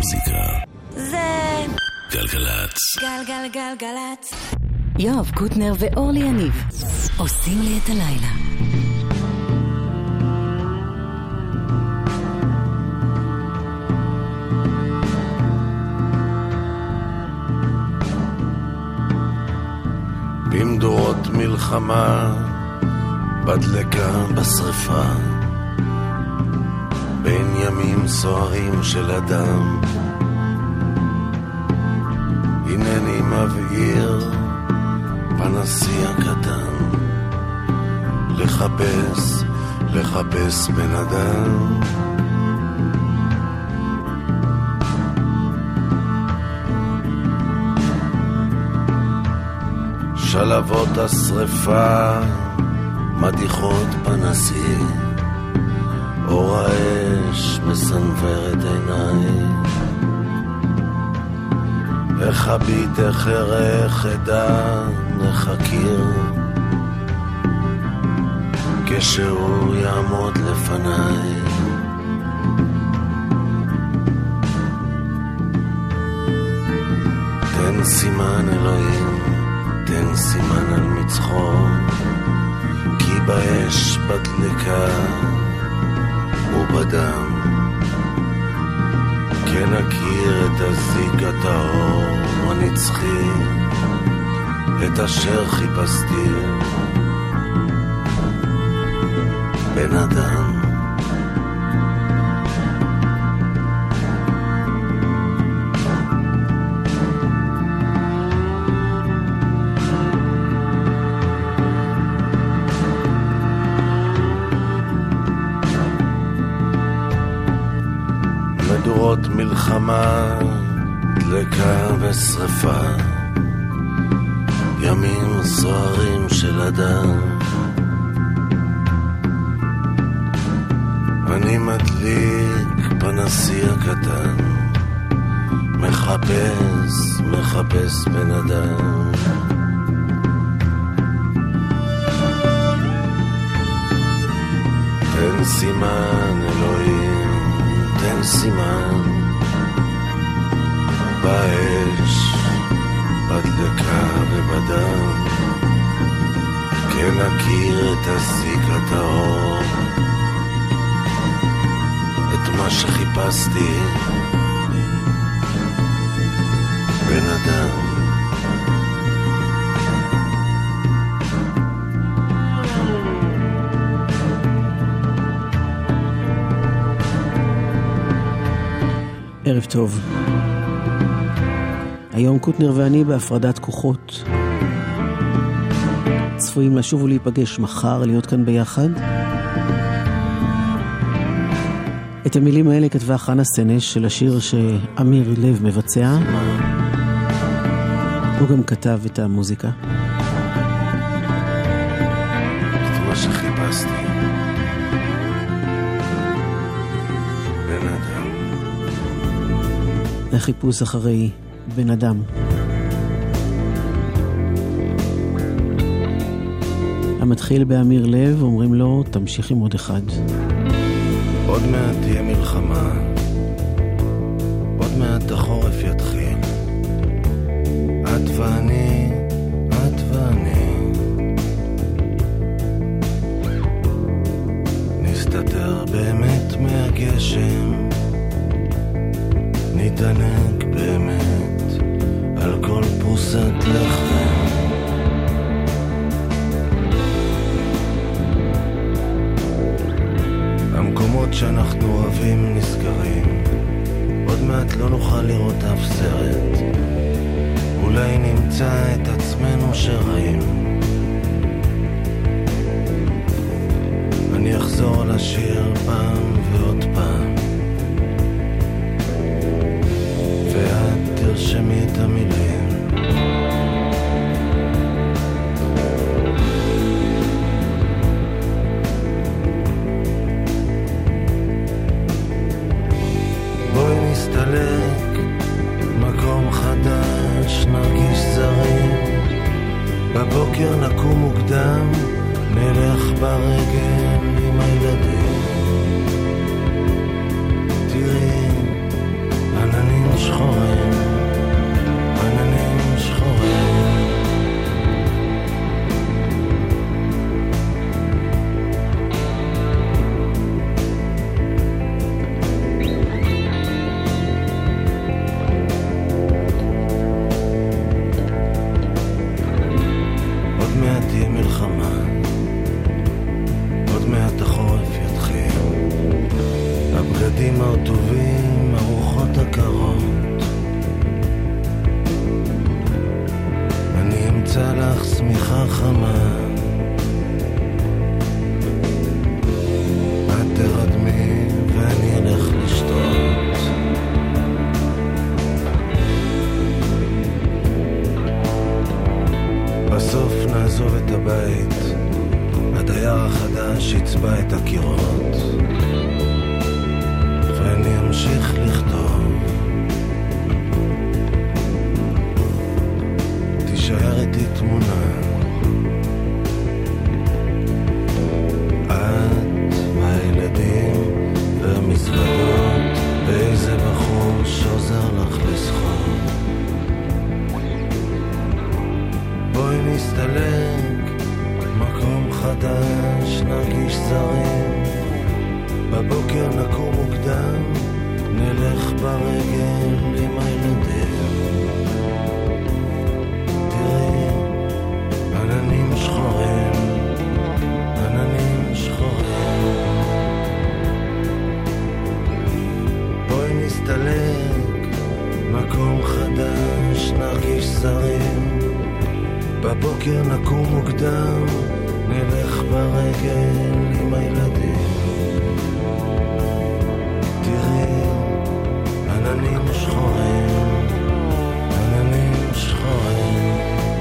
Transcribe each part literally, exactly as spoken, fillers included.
המוזיקה זה גלגלצ. גלגלגלגלצ. יואב קוטנר ואורלי יניב עושים לי את הלילה. במדורות מלחמה בדלקה בשריפה, בין ימים סוערים של אדם, הנני מבעיר פנסי הקטן, לחפש, לחפש בן אדם. שלבות השריפה מדיחות פנסי, אור האש מסנוור את עיניי, איך הביט איך ערך עדה נחכיר, כשהוא יעמוד לפניי. תן סימן אלוהים, תן סימן על מצחו, כי באש בדלקה ובדם כן הכיר את הזיק הטהור הנצחי, את אשר חיפשתי בן אדם. מדורות מלחמה, דלקה ושריפה, ימים סוערים של אדם, אני מדליק פנסי הקטן, מחפש, מחפש בן אדם. תן סימן אלוהים, תן סימן באש, בדלקה ובדם, כן הכיר את הזיק הטהור, את מה שחיפשתי בן אדם. ערב טוב. היום קוטנר ואני בהפרדת כוחות, צפויים לשוב ולהיפגש מחר, להיות כאן ביחד. את המילים האלה כתבה חנה סנש של השיר שאמיר לב מבצע, הוא גם כתב את המוזיקה. את מה שחיפשתי בן אדם. החיפוש אחרי בן אדם. המתחיל באמיר לב, אומרים לו תמשיך עם עוד אחד. עוד מעט תהיה מלחמה, עוד מעט החורף יתחיל, את ואני, את ואני נסתתר באמת מהגשם, נתענק באמת על כל פרוסת לחם. המקומות שאנחנו אוהבים נסגרים, עוד מעט לא נוכל לראות אף סרט, אולי נמצא את עצמנו שרעים. אני אחזור לשיר פעם ועוד פעם, ואת תרשמי את המילים. בואי נסתלק, מקום חדש, נרגיש זרים, בבוקר נקום מוקדם, נלך ברגל עם הילדים. תראי, עננים שחורים, עננים שחורים. עוד מעט תהיה מלחמה, עוד מעט החורף יתחיל, הבגדים הרטובים, הרוחות הקרות. אני אמצא לך שמיכה חמה, את תרדמי ואני אלך לשתות. בסוף נעזוב את הבית, הדייר החדש יצבע את הקירות, ואני אמשיך לכתוב. תישאר איתי תמונה, את והילדים והמזוודות, ואיזה בחור שעוזר לך לשחות. בואי נסתלק, מקום חדש, נרגיש זרים. בבוקר נקום מוקדם, נלך ברגל עם הילדים. תראי, עננים שחורים, עננים שחורים. בואי נסתלק, מקום חדש, נרגיש זרים. בבוקר נקום מוקדם, נלך ברגל עם הילדים. תראי, עננים שחורים, עננים שחורים.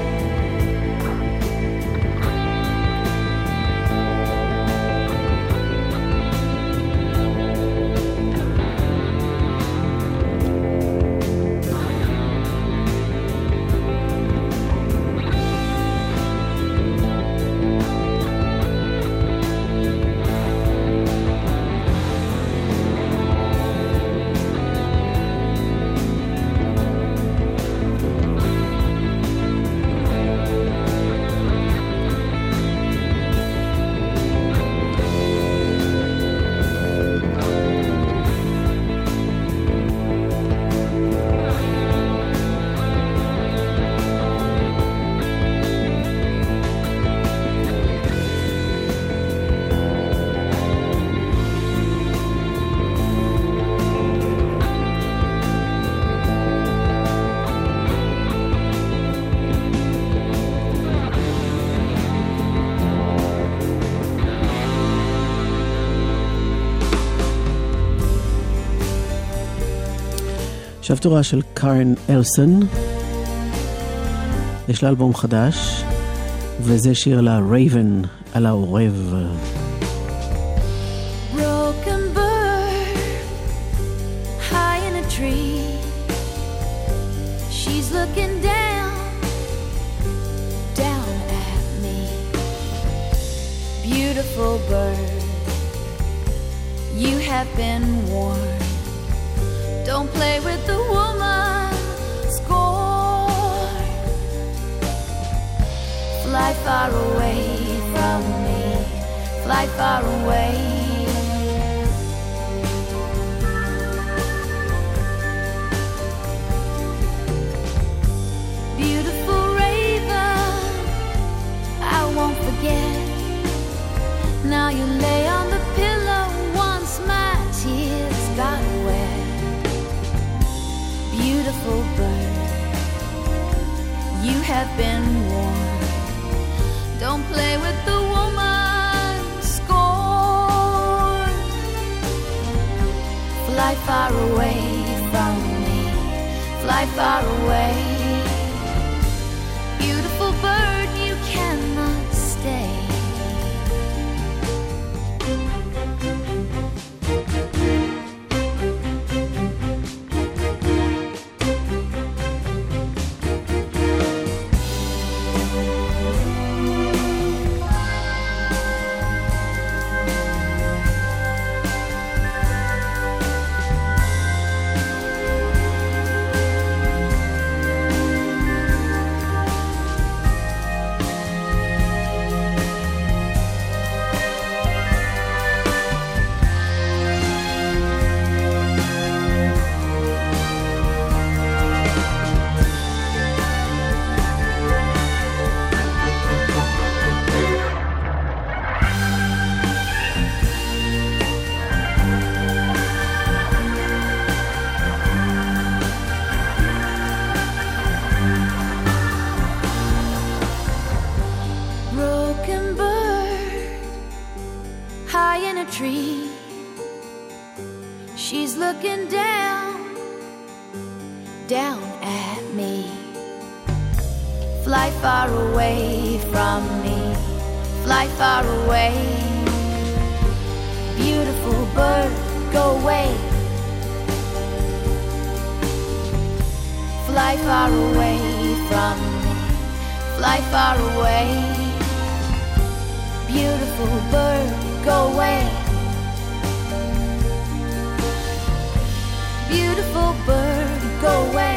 עכשיו תורה של קארן אלסון, יש לה אלבום חדש, וזה שיר לה רייבן על העורב. Broken bird, high in a tree. She's looking down, down at me. Beautiful bird, you have been warned. Don't play with the woman scorn. Fly far away from me, fly far away. Beautiful raven, I won't forget. Now you lay on the pillow once my tears got wet. Beautiful bird, you have been warned. Don't play with the woman scorn. Fly far away from me, fly far away. Beautiful bird, you cannot stay. down at me. Fly far away from me, fly far away. Beautiful bird, go away. Fly far away from me, fly far away. Beautiful bird, go away. Beautiful bird, go away.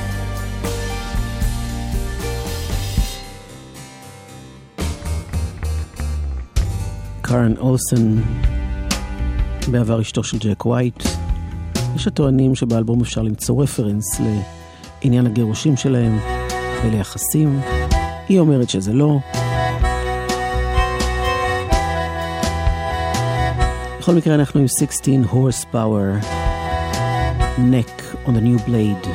קארן אולסן, בעבר אשתו של ג'ק ווייט. יש הטוענים שבאלבום אפשר למצוא רפרנס לעניין הגירושים שלהם וליחסים. היא אומרת שזה לא. בכל מקרה אנחנו עם sixteen horsepower, neck on the new blade.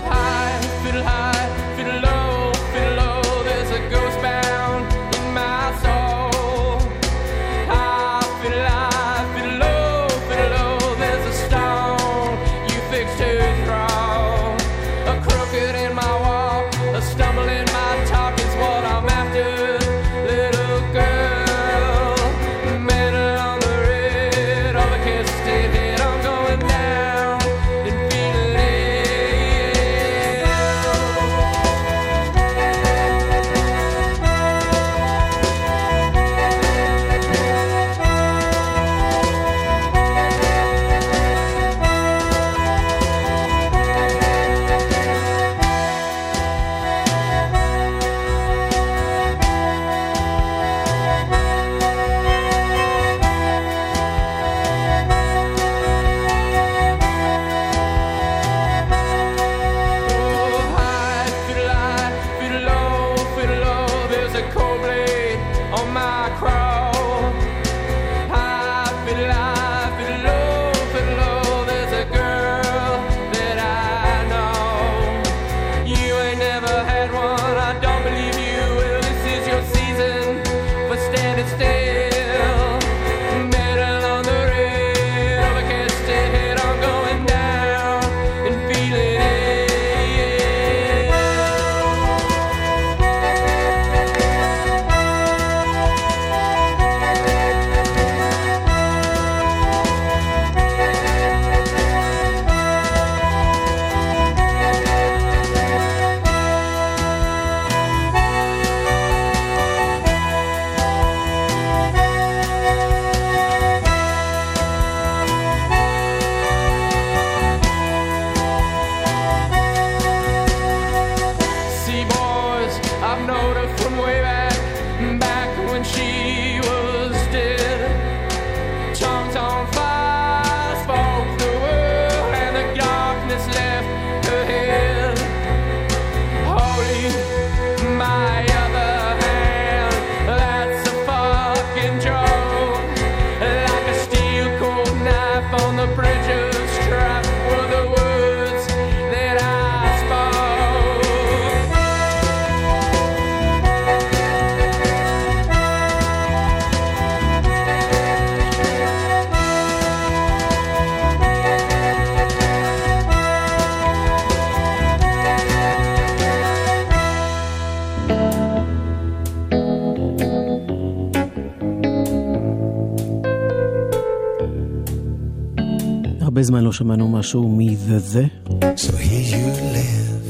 הרבה זמן לא שמענו משהו מ-The The. So here you live,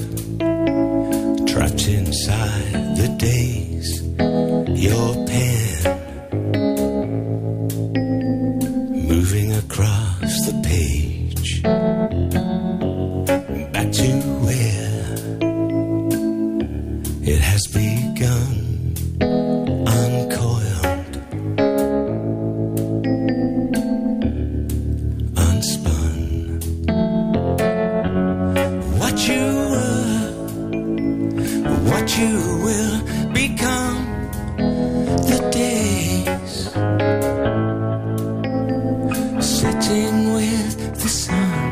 trapped inside the days, your pen moving across the page, back to where it has begun, uncoiled, unspun. What you were, what you will become, the days sitting with the sun.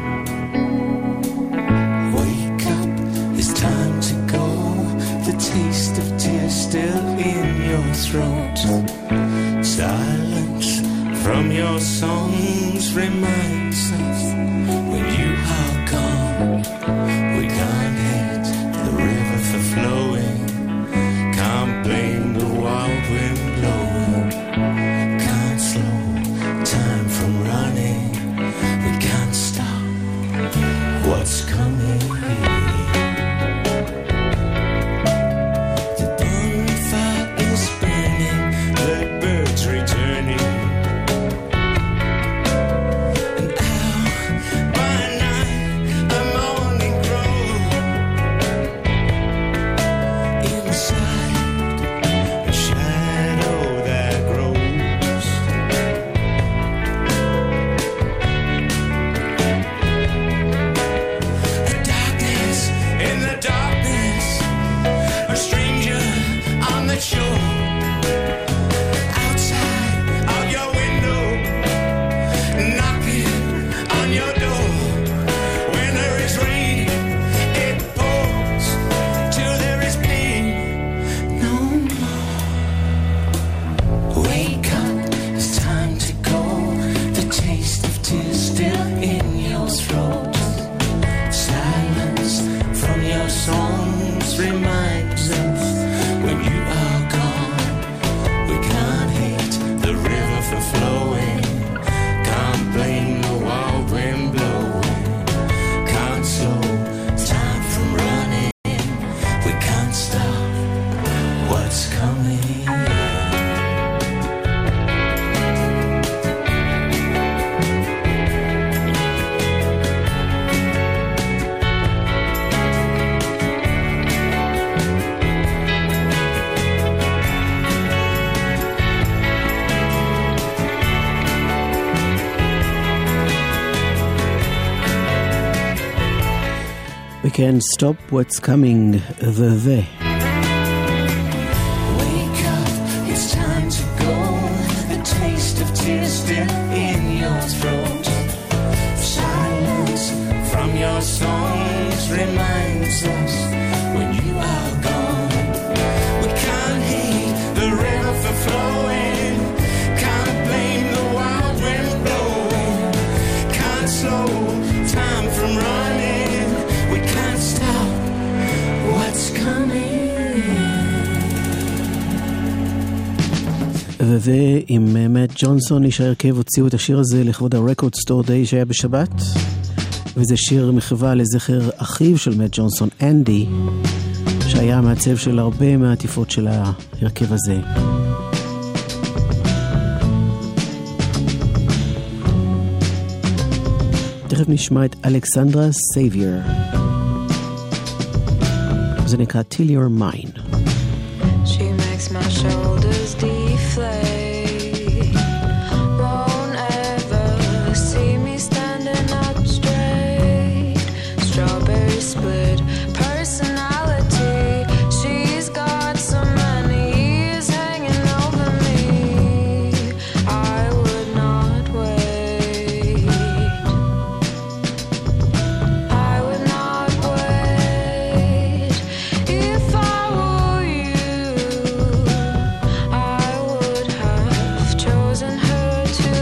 Wake up, it's time to go. The taste of tears still in your throat. Silence from your songs reminds us when you are gone, we can't hate. reminds us when you are gone. We can't hate the river for flowing, can't blame the wild wind blowing, can't slow time from running, we can't stop what's coming. We can't stop what's coming, the the. Wake up, it's time to go. The taste of tears still in your throat. Silence from your songs reminds us when you are gone. We can't hate the river for flowing, can't blame the wild wind blowing, can't slow time from running, we can't stop what's coming. וזה עם מאט ג'ונסון, איש ההרכב הוציאו את השיר הזה לכבוד הרקורד סטור דיי שהיה בשבת, וזה שיר מחווה לזכר אחיו של מאט ג'ונסון, אנדי, שהיה המעצב של הרבה מהעטיפות של ההרכב הזה. תכף נשמע את אלכסנדרה סייבייר, זה נקרא Till You're Mine. She makes my shoulders deflate, won't ever see me standing up straight, strawberry split personality, she's got so many years hanging over me, I would not wait, I would not wait, if I were you, I would have chosen her too.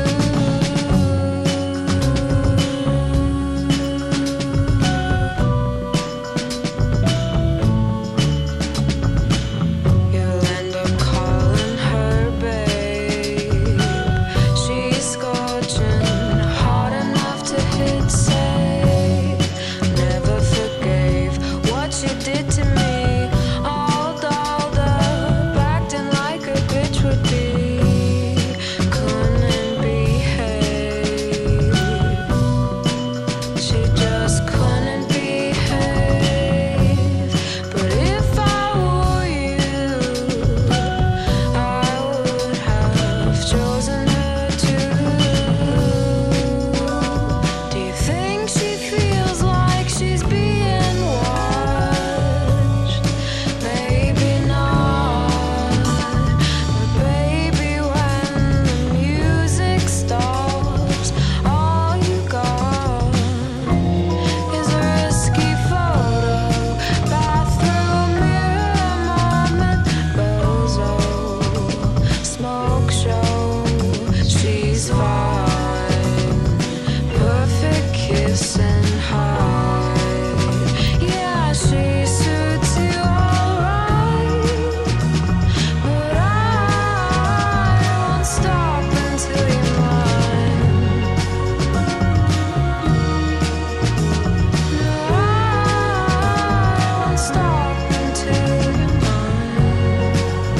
You'll end up calling her babe, she's scorching hot enough to hit save, never forgave what she did to me, all dolled up, acting like a bitch would be, couldn't behave, she just couldn't behave, but if I were you, I would have chosen her too. Do you think she feels like she's being watched? Maybe not, but baby, when the music stops, all you got is a risky photo, bathroom mirror moment, bozo, smoke show, she's fine, perfect kiss and hide, yeah, she suits you alright, but I won't stop until you're mine. No, I won't stop until you're mine.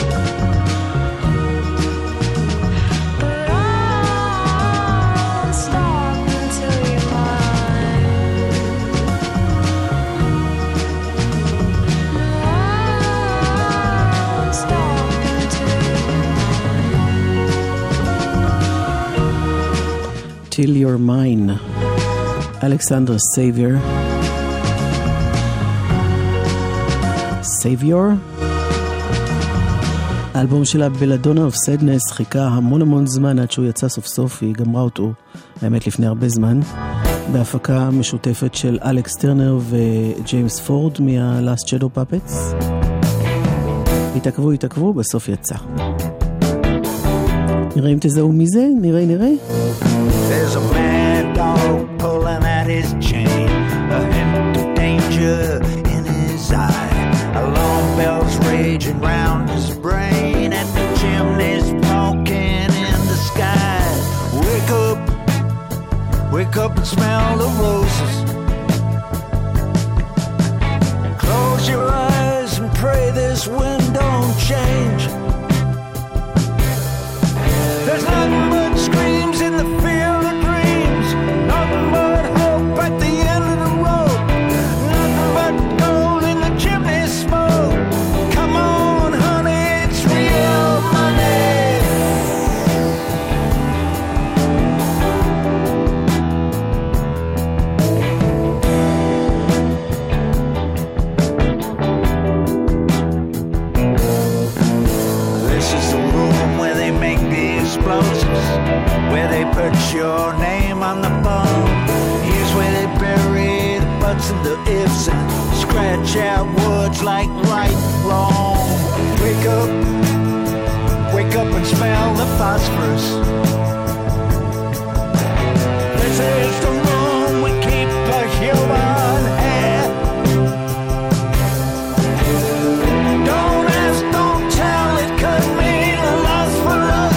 But I won't stop until you're mine. No, I won't stop until you're mine. Till You're Mine, אלכסנדרה סייבייר. סייביור? האלבום שלה בלדונה אוף סדנס חיכה המון המון זמן עד שהוא יצא סוף סוף, היא גמרה אותו, האמת לפני הרבה זמן, בהפקה משותפת של אלכס טרנר וג'יימס פורד מה-Last Shadow Puppets. התעכבו, התעכבו, בסוף יצא. נראה אם תזהו מזה, נראה, נראה. There's a mad dog pulling at his chain, a hint of danger in his eye. A this wind don't change. There's nothing but screams in the field of dreams, nothing but hope at the end of the road, nothing but gold in the chimney smoke. Come on, honey, it's real money. Where they put your name on the bone. Here's where they bury the buts and the ifs and scratch out words like right, wrong. Wake up, wake up and smell the phosphorus. This is the room we keep a human hair. Don't ask, don't tell, it could mean a loss for us.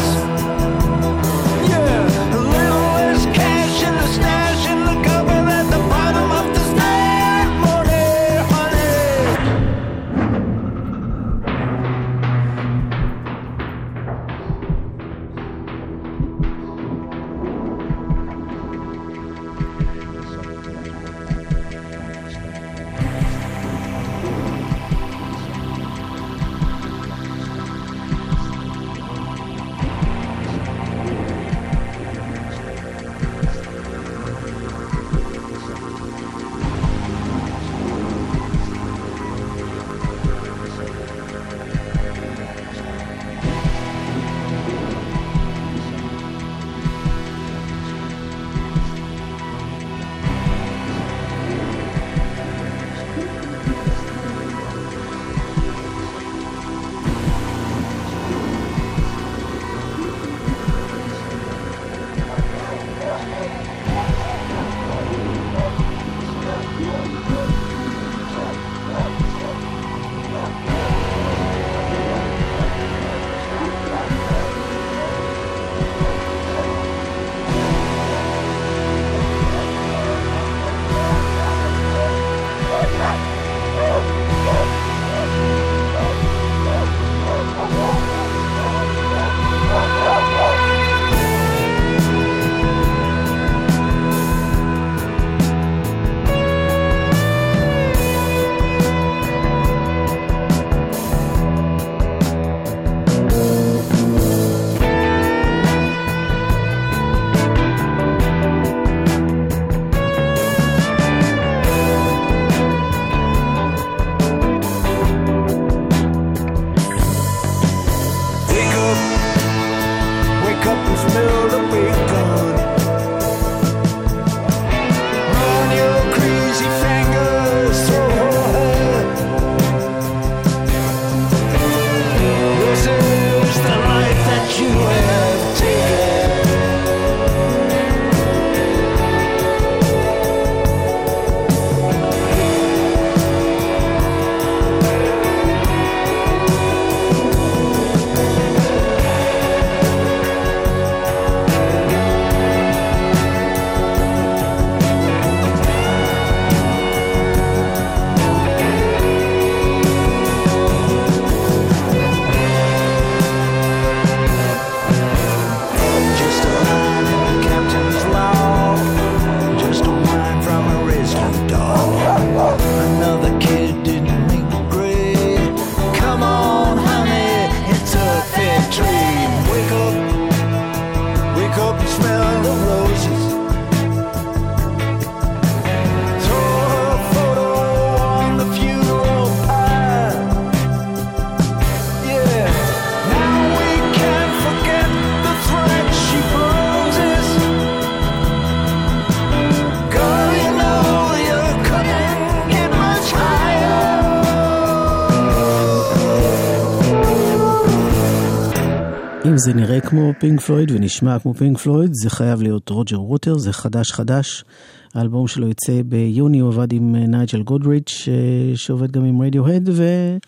אם זה נראה כמו פינק פלויד ונשמע כמו פינק פלויד, זה חייב להיות רוג'ר ווטר, זה חדש חדש. האלבום שלו יצא ביוני, הוא עבד עם נייג'ל גודריץ' שעובד גם עם רדיוהד, ו...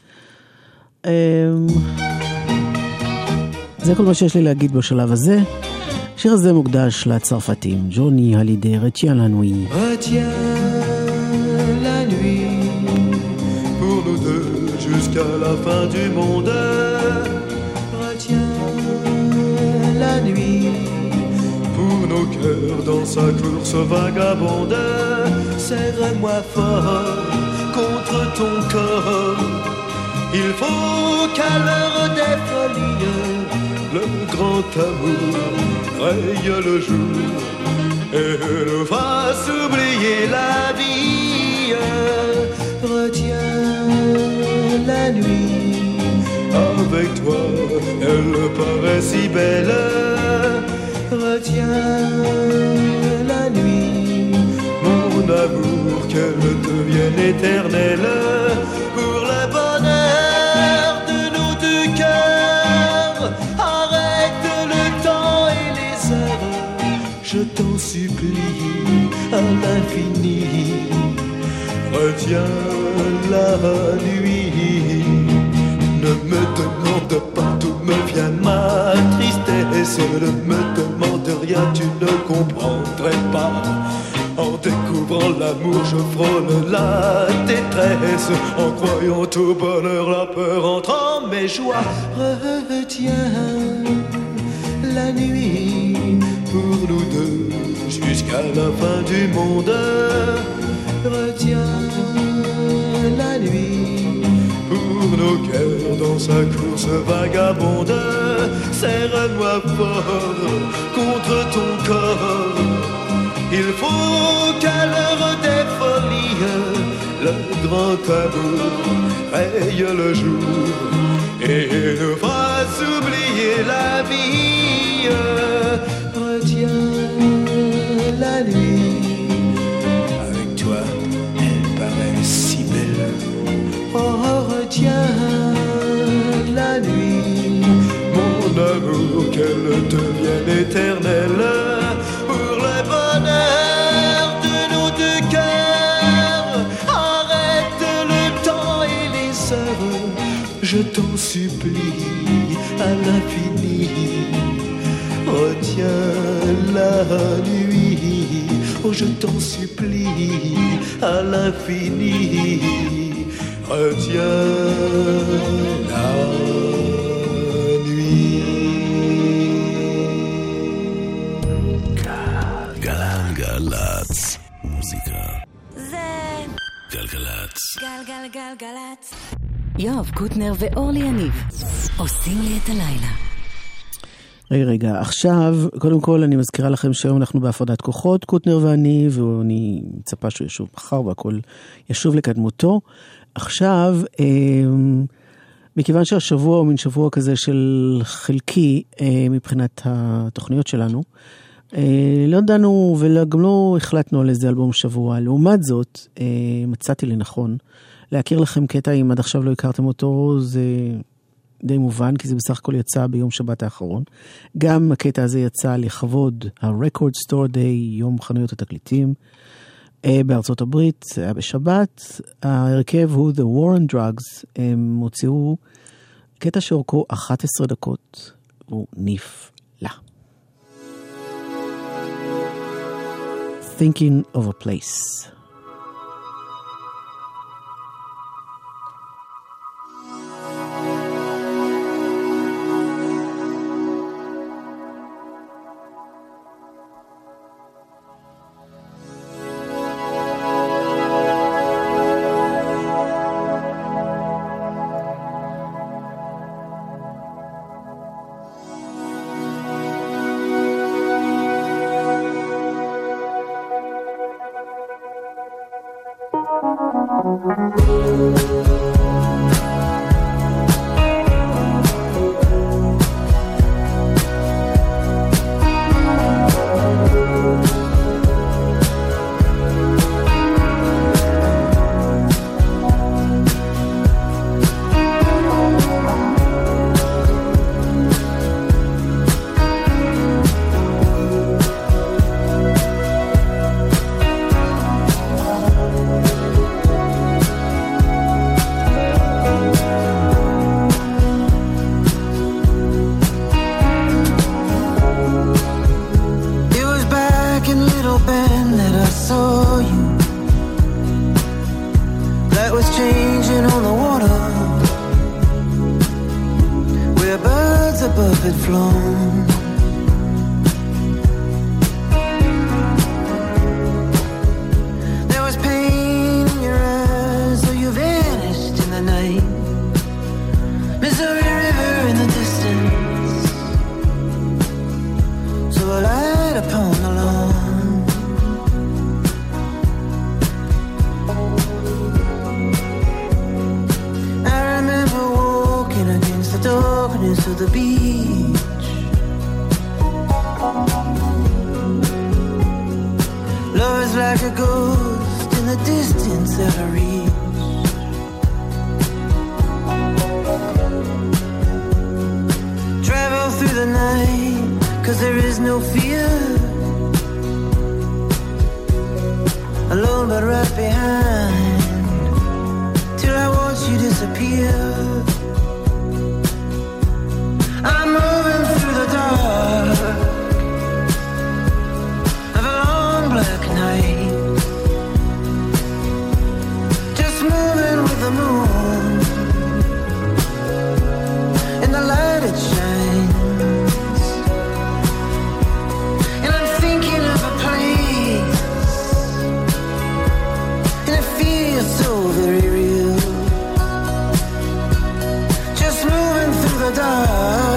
זה כל מה שיש לי להגיד בשלב הזה. השיר הזה מוקדש לצרפתים, ג'וני הלידי, רטיין לנוי. Retiens la nuit pour nous deux jusqu'à jusqu'à la fin du monde. Retiens la nuit pour nos cœurs dans sa course vagabonde. Serre-moi fort contre ton corps. Il faut qu'à l'heure des folies, le grand amour raye le jour et nous fasse oublier la vie. Retiens la nuit, avec toi elle paraît si belle. Retiens la nuit, mon amour, qu'elle devienne éternelle. Pour le bonheur de nos deux cœurs, arrête le temps et les heures, je t'en supplie à l'infini. Retiens la nuit, ne me demande pas d'où me vient ma tristesse. Ne me demande rien, tu ne comprendrais pas. En découvrant l'amour, je frôle la détresse. En croyant au bonheur, la peur entre en mes joies. Retiens la nuit pour nous deux jusqu'à la fin du monde. Retiens la nuit pour nos cœurs dans sa course vagabonde. Serre-moi fort contre ton corps. Il faut qu'à l'heure des folies, le grand amour raye le jour et nous fasse oublier la vie. Retiens la nuit, avec toi elle paraît si belle. Oh, retiens la nuit, mon amour, qu'elle devienne éternelle. Pour le bonheur de nos deux cœurs, arrête le temps et les heures, je t'en supplie à l'infini. Retiens la nuit, oh je t'en supplie à l'infini. Retiens la nuit. גלגלצ, מוזיקה. זה גלגלצ. גלגלגלגלצ. יואב קוטנר ואורלי יניב עושים לי את הלילה. רגע, רגע, עכשיו, קודם כל אני מזכירה לכם שהיום אנחנו בהפרדת כוחות, קוטנר ואני, ואני מצפה שהוא ישוב מחר והכל ישוב לקדמותו. עכשיו, אה, מכיוון שהשבוע הוא מין שבוע כזה של חלקי אה, מבחינת התוכניות שלנו, אה, לא דנו וגם לא החלטנו על איזה אלבום שבוע. לעומת זאת, אה, מצאתי לנכון להכיר לכם קטע, אם עד עכשיו לא הכרתם אותו, זה די מובן, כי זה בסך הכל יצא ביום שבת האחרון. גם הקטע הזה יצא לכבוד ה-Record Store Day, יום חנויות התקליטים, בארצות הברית, היה בשבת. ההרכב הוא The War on Drugs, הם הוציאו קטע שאורכו אחת עשרה דקות, הוא נפלא. Thinking of a Place. stars above had flown. There was pain in your eyes, though you vanished in the night. Missouri River in the distance, so I light upon the lawn. I remember walking against the darkness of the beach. Love is like a ghost in the distance that I reach. Travel through the night, 'cause there is no fear. Alone but right behind, till I watch you disappear. I'm moving through the dark of a long black night, just moving with the moon. In the light it shines, and I'm thinking of a place, and it feels so very real. Just moving through the dark.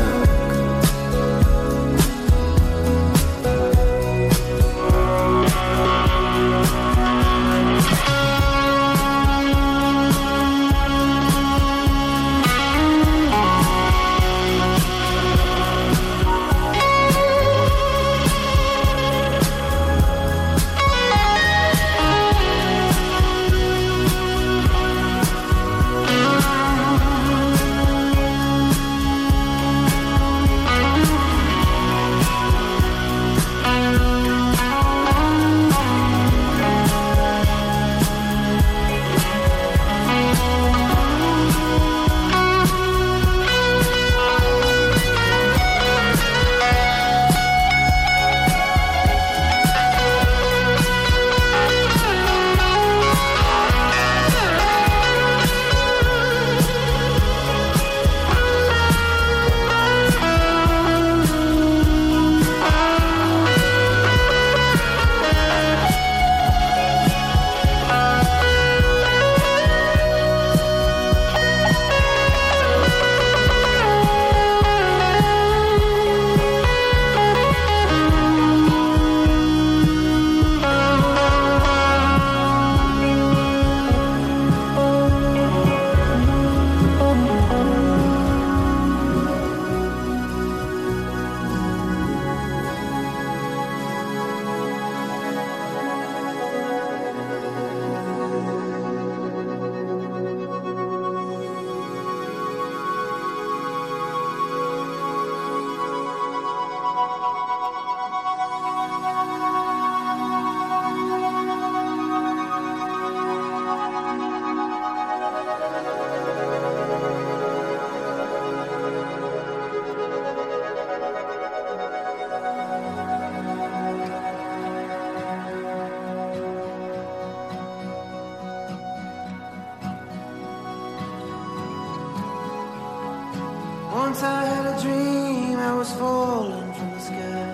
Once I had a dream I was falling from the sky,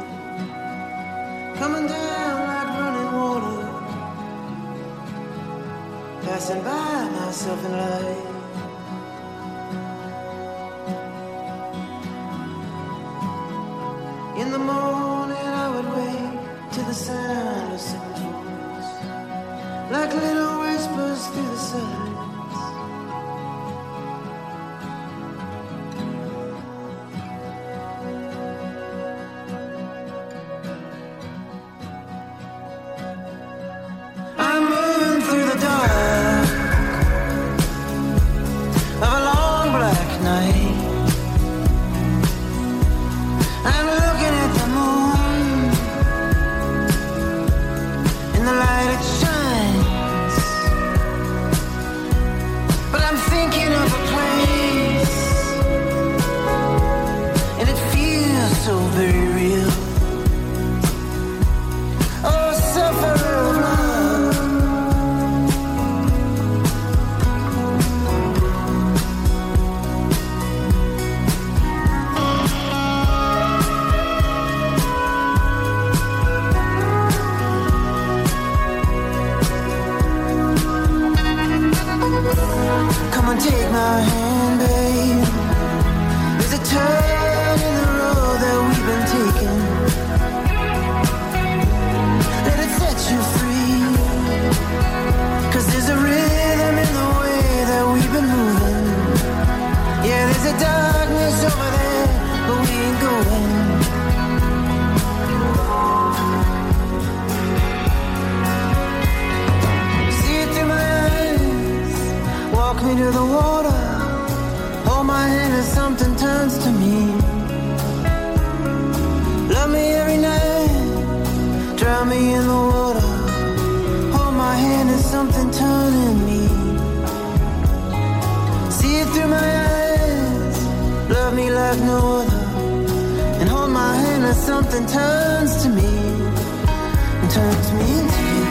coming down like running water, passing by myself in light. In the morning I would wake to the sound of someone's voice, like little whispers through the silence. I'm looking at the moon. and take my hand, babe. There's a turn in the road that we've been taking. Let it set you free. 'Cause there's a rhythm in the way that we've been moving. Yeah, there's a darkness over there, but we ain't going. See it through my eyes. Walk me to the water. Hold my hand as something turns to me. Love me every night. Drown me in the water. Hold my hand as something turning me. See it through my eyes. Love me like no other. And hold my hand as something turns to me. And turns me into you.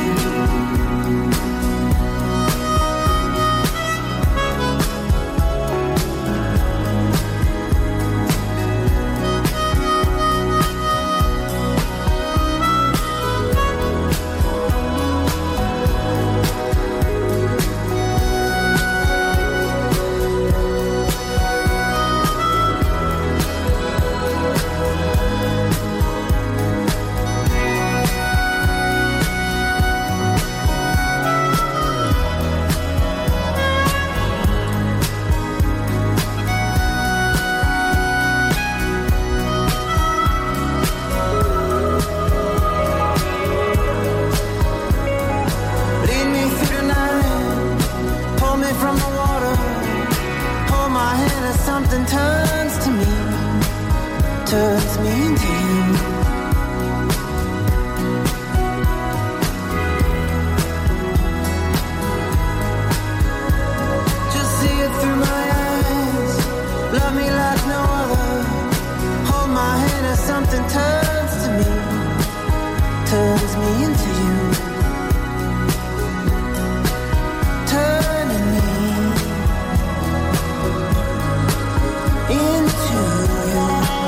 Something turns to me, turns me into you. Just see it through my eyes. Love me like no other. Hold my hand as something turns to me, turns me into you. Turning me into you.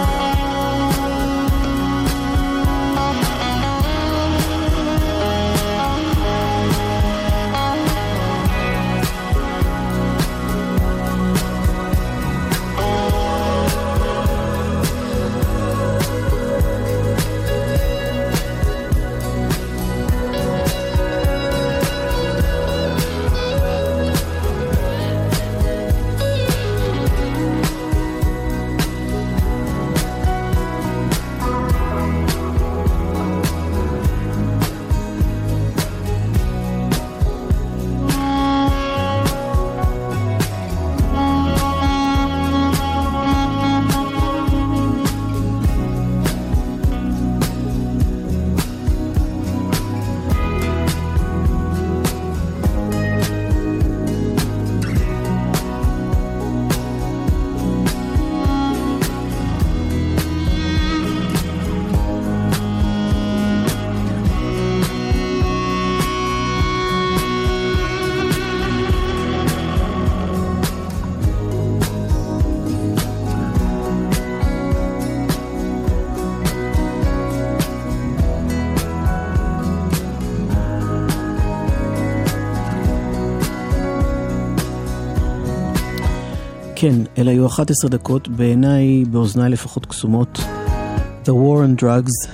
כן, אלה היו אחת עשרה דקות, בעיניי, באוזניי לפחות קסומות. The War on Drugs,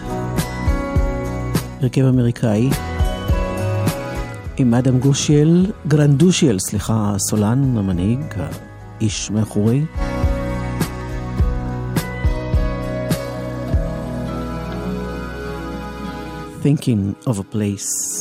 הרכב אמריקאי, עם אדם גושיאל, גרנדושיאל, סליחה, הסולן, המנהיג, האיש מאחורי. Thinking of a place.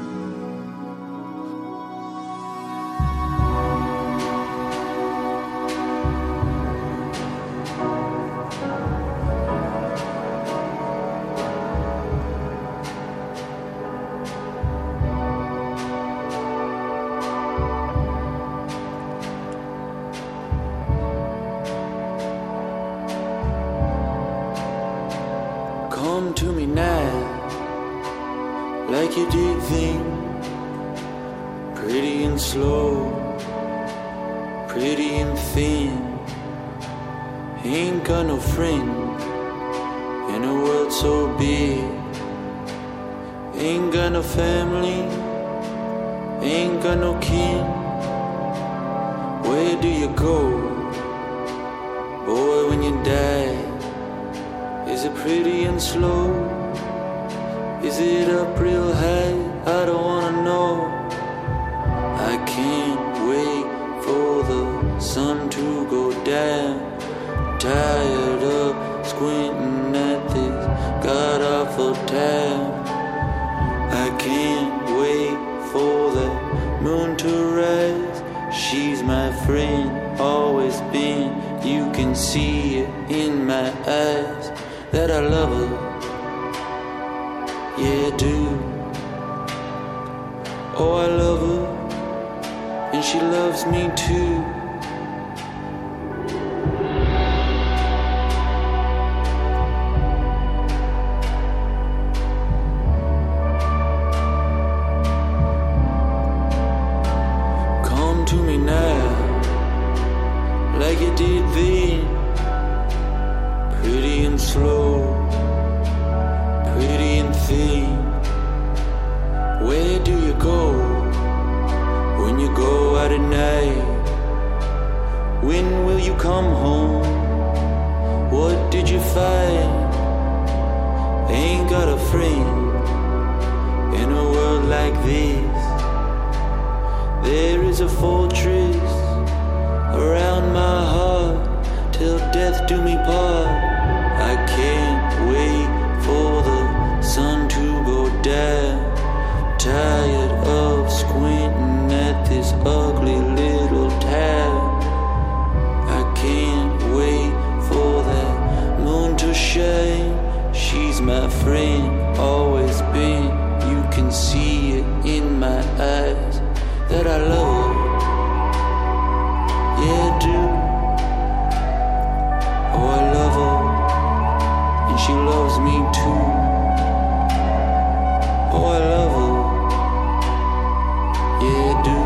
Come to me now, like you did then, pretty and slow, pretty and thin. Ain't got no friend in a world so big. Ain't got no family, ain't got no kin. Where do you go? Boy, when you die, is it pretty and slow? Is it up real high? I don't wanna know. I can't wait for the sun to go down. Tired of squinting at this god-awful town. I can't wait for the moon to rise. She's my friend, always been. You can see it in my eyes that I love her. Yeah, I do. Oh, I love her, and she loves me too. Come to me now, like you did then, pretty and slow, pretty and thin. Where do you go when you go out at night? When will you come home? What did you find? Ain't got a friend in a world like this. There is a fortress around my heart till death do me part. I can't wait for the sun to go down. Tired of squinting at this ugly little town. I can't wait for that moon to shine. She's my friend, always been. You can see it in my eyes that I love her. Yeah, I do. Oh, I love her, and she loves me too. Oh, I love her. Yeah, I do.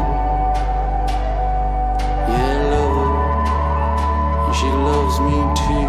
Yeah, I love her, and she loves me too.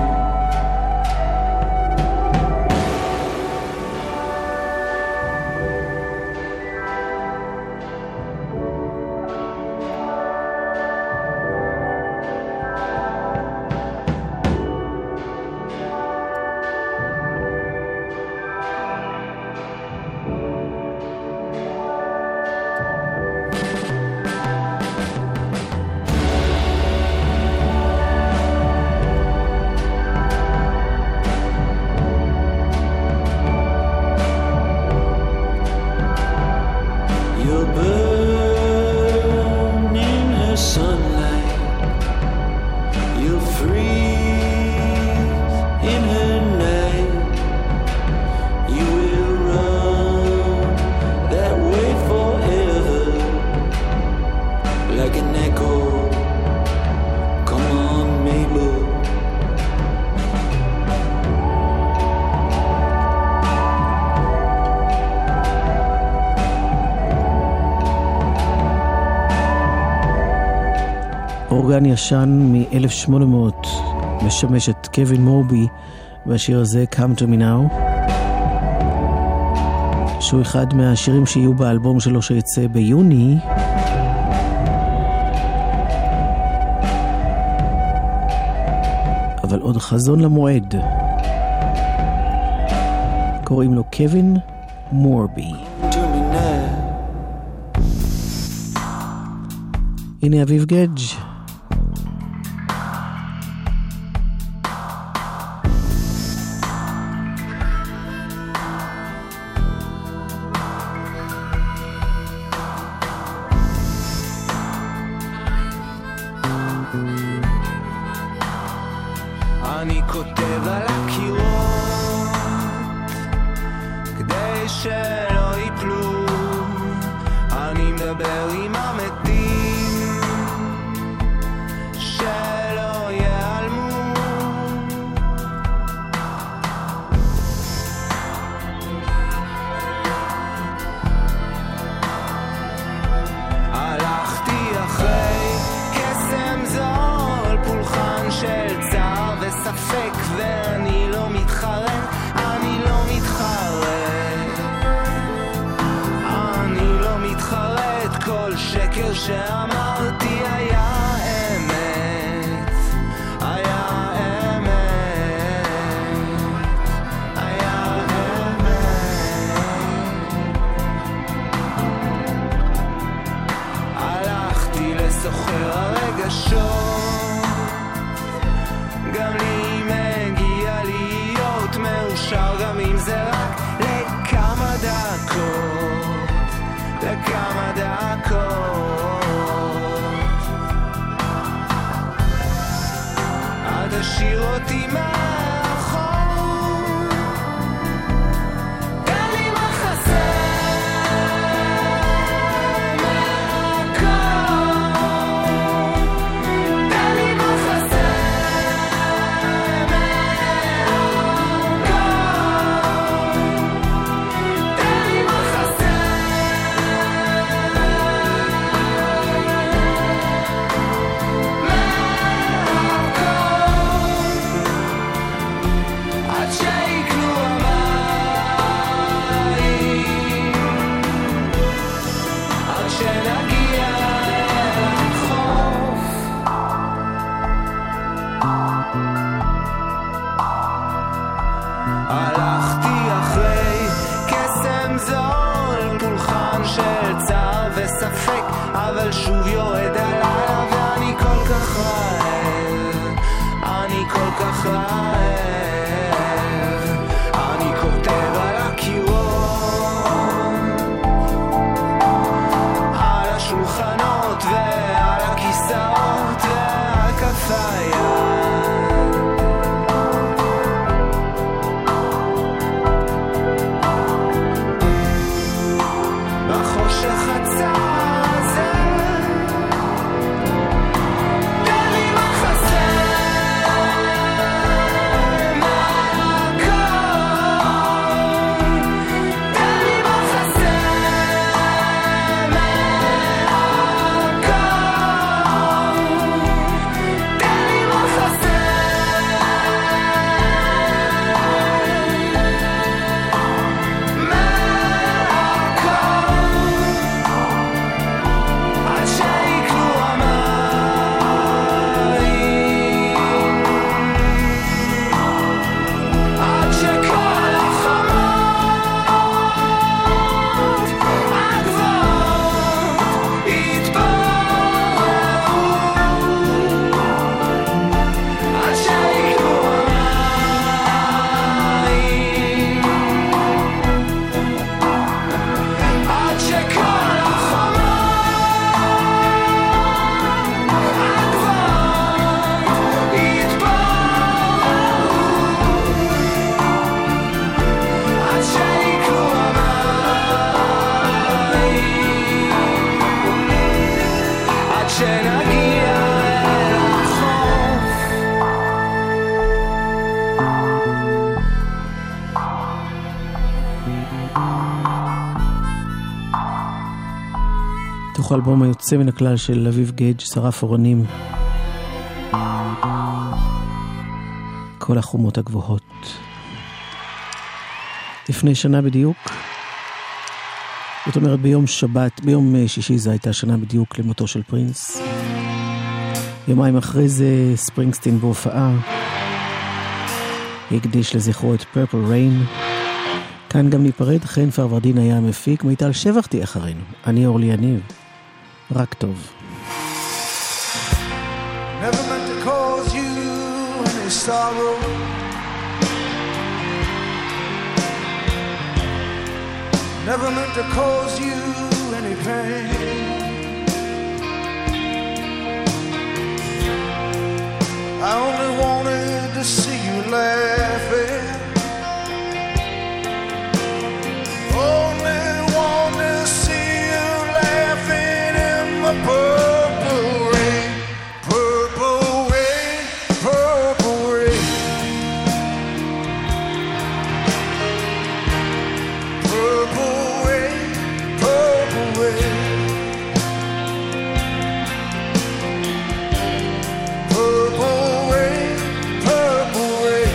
אורגן ישן מ-אלף שמונה מאות משמש את קווין מורבי והשיר הזה Come to me now, שהוא אחד מהשירים שיהיו באלבום שלו שיצא ביוני. אבל עוד חזון למועד. קוראים לו קווין מורבי. הנה אביב גדג'. אני כותב על הקירות כדי שלא ייפלו, אני מדבר עם המתים שלא ייעלמו. הלכתי אחרי קסם זול, פולחן של צער וספק, ואני לא מתחרט, אני לא מתחרט, אני לא מתחרט. כל שקר שאמרתי היה סוחר הרגשות, גם לי מגיע להיות מאושר, גם אם זה רק לכמה דקות, לכמה דקות. אל תשאיר אותי מאחור, תן לי מה חסר מהכל, תן לי מה חסר מהכל, תן לי מה עד שיקלו המים, עד שנגיע לחוף. הלכתי אחרי קסם זול, פולחן של צער וספק, אבל שוב יורד הלילה ואני כל כך רעב, אני כל כך רעב. אני כותב על הקירות, על השולחנות ועל הכיסאות ועל כף היד, בחושך הצר הזה, תן לי מה חסר מהכל, תן לי מה חסר מהכל, תן לי מה חסר מהכל, עד שיקלו המים, עד שכל החומות הגבוהות יתפוררו, עד שיקלו המים, עד שכל החומות הגבוהות יתפוררו, עד שיקלו המים, עד שנגיע לחוף. תוך האלבום היוצא מן הכלל של אביב גייג', שרף אורנים, כל החומות הגבוהות. לפני שנה בדיוק, זאת אומרת ביום שבת, ביום שישי זה הייתה שנה בדיוק למותו של פרינס. יומיים אחרי זה ספרינגסטין בהופעה הקדיש לזכרו את פרפל ריין. כאן גם ניפרד, חן פרוורדין היה המפיק, מיטל שבח תהיה אחרינו. אני אורלי יניב, רק טוב. Never meant to cause you any sorrow, never meant to cause you any pain. I only wanted to see you laughing, only wanted to see you laughing in the purple rain, purple rain, purple rain, purple rain, purple rain, purple rain, purple rain.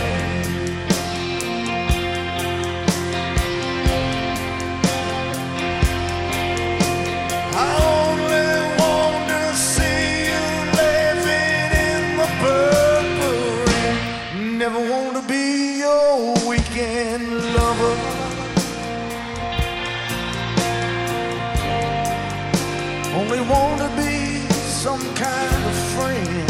I only want to see you laughing in the purple rain. Never want to be your weekend lover, only want to be some kind of friend.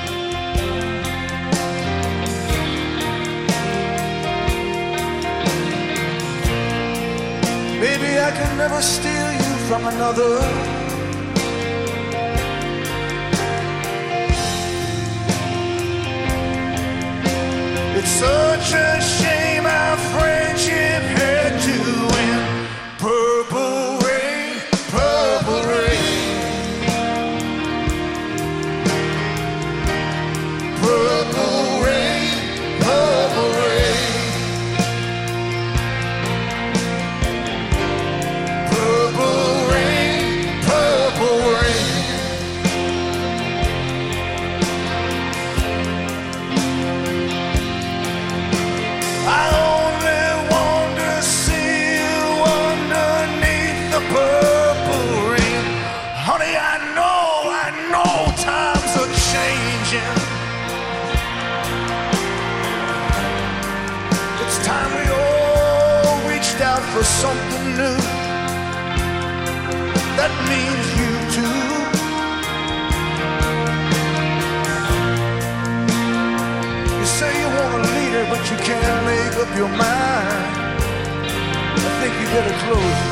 Baby, I can never steal you from another. It's such a shame our friendship had to end. Purple rain, purple rain, purple rain, purple rain, purple rain, purple rain. I only want to see you underneath the purple rain. Honey, I know, I know times are changing. It's time we all reached out for something new. That means you too. You say you want a leader, but you can't make up your mind. I think you better close